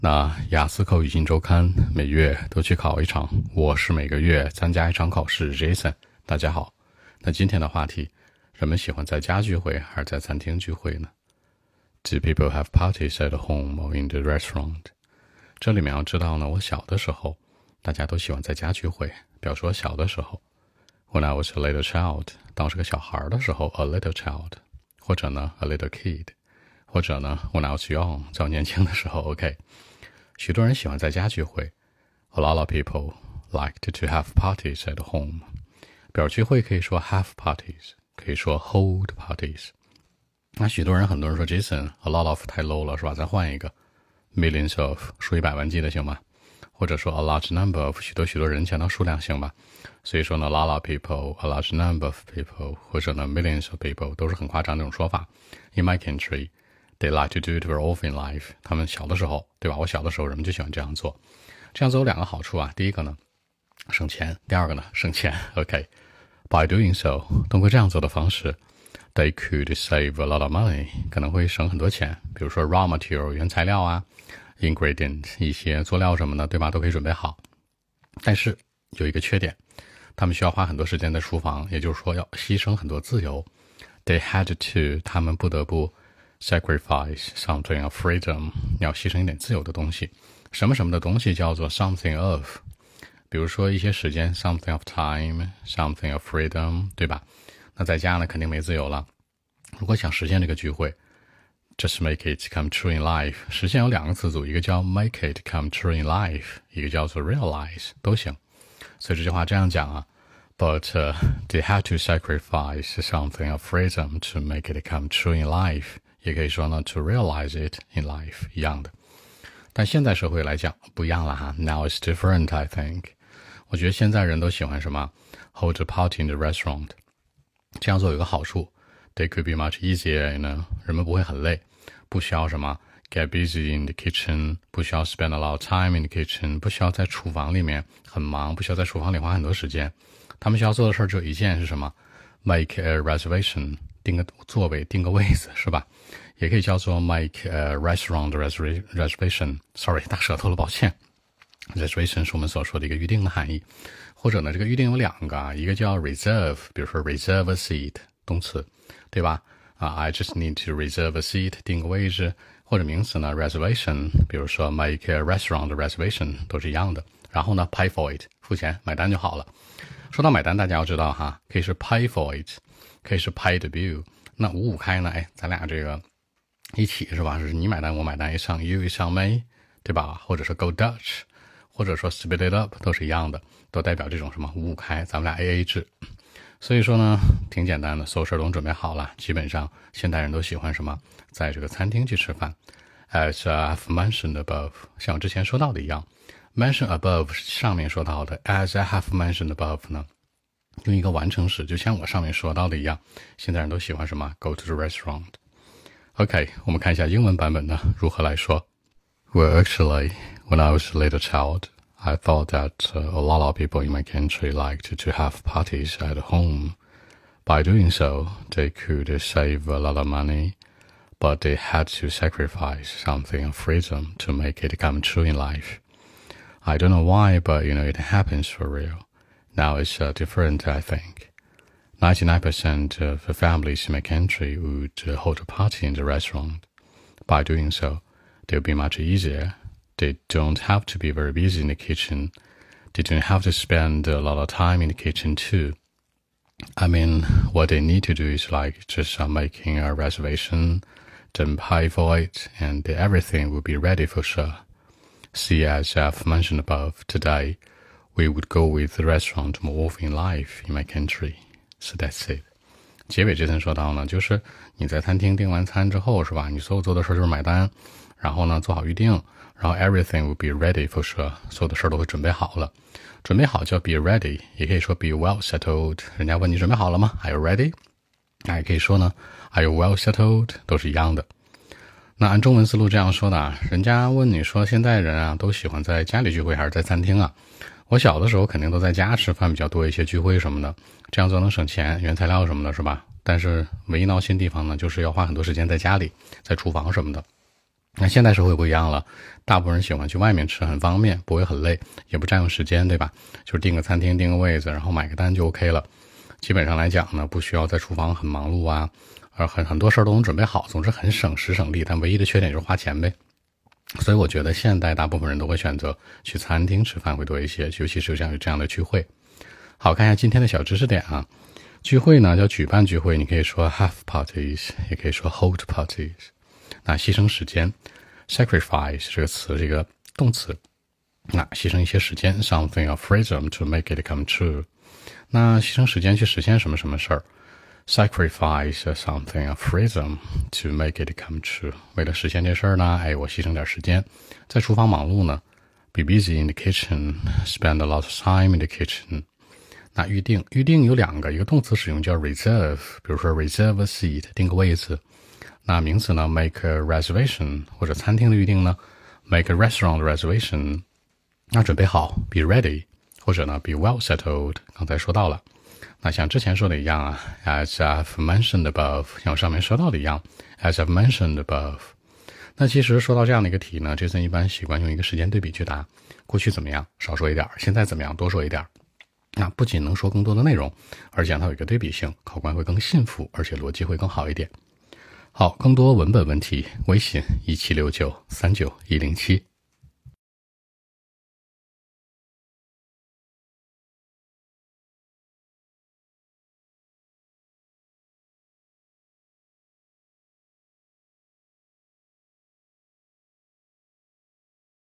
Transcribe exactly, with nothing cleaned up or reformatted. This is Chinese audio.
那雅思口语新周刊每月都去考一场，我是每个月参加一场考试 Jason。 大家好，那今天的话题，人们喜欢在家聚会还是在餐厅聚会呢？ Do people have parties at home or in the restaurant? 这里面要知道呢，我小的时候大家都喜欢在家聚会，比如说小的时候 When I was a little child， 当我是个小孩的时候 A little child， 或者呢 A little kid， 或者呢 When I was young， 在我年轻的时候 OK。许多人喜欢在家聚会 A lot of people like to, to have parties at home。 表聚会可以说 have parties， 可以说 hold parties。 那许多人很多人说 Jason A lot of 太 low 了是吧，再换一个 millions of 数以百万计的行吗？或者说 a large number of 许多许多人强调数量行吧？所以说呢 a lot of people a large number of people 或者呢 millions of people 都是很夸张的这种说法。 In my country They like to do it very often in life。 他们小的时候，对吧？我小的时候人们就喜欢这样做。这样做有两个好处啊，第一个呢省钱，第二个呢省钱。 OK， By doing so， 通过这样做的方式 They could save a lot of money， 可能会省很多钱。比如说 raw material 原材料啊， ingredient 一些佐料什么的，对吧？都可以准备好。但是有一个缺点，他们需要花很多时间在厨房，也就是说要牺牲很多自由。 They had to， 他们不得不sacrifice something of freedom， 你要牺牲一点自由的东西。什么什么的东西叫做 something of， 比如说一些时间 something of time， something of freedom， 对吧？那在家呢肯定没自由了。如果想实现这个聚会 just make it come true in life， 实现有两个词组，一个叫 make it come true in life， 一个叫做 realize， 都行。所以这句话这样讲啊，But、uh, they had to sacrifice something of freedom to make it come true in life，也可以说呢 to realize it in life， 一样的。但现在社会来讲不一样了哈 Now it's different I think。 我觉得现在人都喜欢什么 hold a party in the restaurant。 这样做有个好处 They could be much easier， 呢人们不会很累，不需要什么 get busy in the kitchen， 不需要 spend a lot of time in the kitchen， 不需要在厨房里面很忙，不需要在厨房里花很多时间。他们需要做的事只有一件，是什么？ make a reservation， 订个座位，订个位子，是吧？也可以叫做 make a restaurant reservation。 Sorry， 大舌头了，抱歉。 Reservation 是我们所说的一个预定的含义。或者呢，这个预定有两个啊，一个叫 reserve， 比如说 reserve a seat， 动词，对吧？啊 I just need to reserve a seat， 订个位置。或者名词呢 reservation， 比如说 make a restaurant reservation， 都是一样的。然后呢 pay for it， 付钱买单就好了。说到买单，大家要知道哈，可以是 pay for it， 可以是 pay the bill。 那五五开呢，哎，咱俩这个一起是吧，是你买单我买单，一上 you 一上 me， 对吧？或者是 go Dutch， 或者说 split it up， 都是一样的，都代表这种什么五五开，咱们俩 A A 制。所以说呢挺简单的，所有事都准备好了。基本上现代人都喜欢什么，在这个餐厅去吃饭。 As I've mentioned above， 像我之前说到的一样， mention above 上面说到的， as I have mentioned above 呢用一个完成时，就像我上面说到的一样，现在人都喜欢什么 go to the restaurant。 OK， 我们看一下英文版本呢如何来说。 Well, actually, when I was a little child, I thought that uh, a lot of people in my country liked to have parties at home. By doing so, they could save a lot of money, but they had to sacrifice something of freedom to make it come true in life. I don't know why, but you know, it happens for real. Now it's uh, different, I think. ninety-nine percent of the families in my country would uh, hold a party in the restaurant. By doing so, it will be much easier. They don't have to be very busy in the kitchen. They don't have to spend a lot of time in the kitchen too. I mean, what they need to do is like just uh, making a reservation, then pay for it, and everything will be ready for sure. See, as I've mentioned above, today, we would go with the restaurant more often in life in my country. So that's it. 结尾这层说到呢，就是你在餐厅订完餐之后是吧，你所有做的事就是买单，然后呢做好预定，然后 everything will be ready for sure， 所有的事都会准备好了。准备好叫 be ready， 也可以说 be well settled。 人家问你准备好了吗？ Are you ready？ 那也可以说呢 Are you well settled？ 都是一样的。那按中文思路这样说的啊，人家问你说现在人啊都喜欢在家里聚会还是在餐厅啊？我小的时候肯定都在家吃饭比较多一些，聚会什么的，这样做能省钱，原材料什么的是吧？但是唯一闹心地方呢，就是要花很多时间在家里，在厨房什么的。 那现代社会不一样了，大部分人喜欢去外面吃，很方便，不会很累，也不占用时间，对吧？就是订个餐厅，订个位子，然后买个单就 OK 了。基本上来讲呢，不需要在厨房很忙碌啊，而很很多事儿都能准备好，总之很省时省力，但唯一的缺点就是花钱呗。所以我觉得现代大部分人都会选择去餐厅吃饭会多一些，尤其是像有这样的聚会。好，看一下今天的小知识点啊。聚会呢叫举办聚会，你可以说 have parties， 也可以说 hold parties。那牺牲时间 sacrifice 这个词这个动词，那牺牲一些时间 something of freedom to make it come true。那牺牲时间去实现什么什么事儿 sacrifice something of freedom to make it come true。为了实现这事儿呢，哎，我牺牲点时间，在厨房忙碌呢 be busy in the kitchen， spend a lot of time in the kitchen。那预定预定有两个，一个动词使用叫 reserve， 比如说 reserve a seat， 定个位子。那名词呢 make a reservation， 或者餐厅的预定呢 make a restaurant reservation。那准备好 be ready， 或者呢 be well settled， 刚才说到了。那像之前说的一样啊 as I've mentioned above， 像我上面说到的一样 as I've mentioned above。 那其实说到这样的一个题呢 Jason 一般习惯用一个时间对比去答，过去怎么样少说一点，现在怎么样多说一点。那不仅能说更多的内容，而且它有一个对比性，考官会更信服，而且逻辑会更好一点。好，更多文本问题，微信一七六九三九一零七。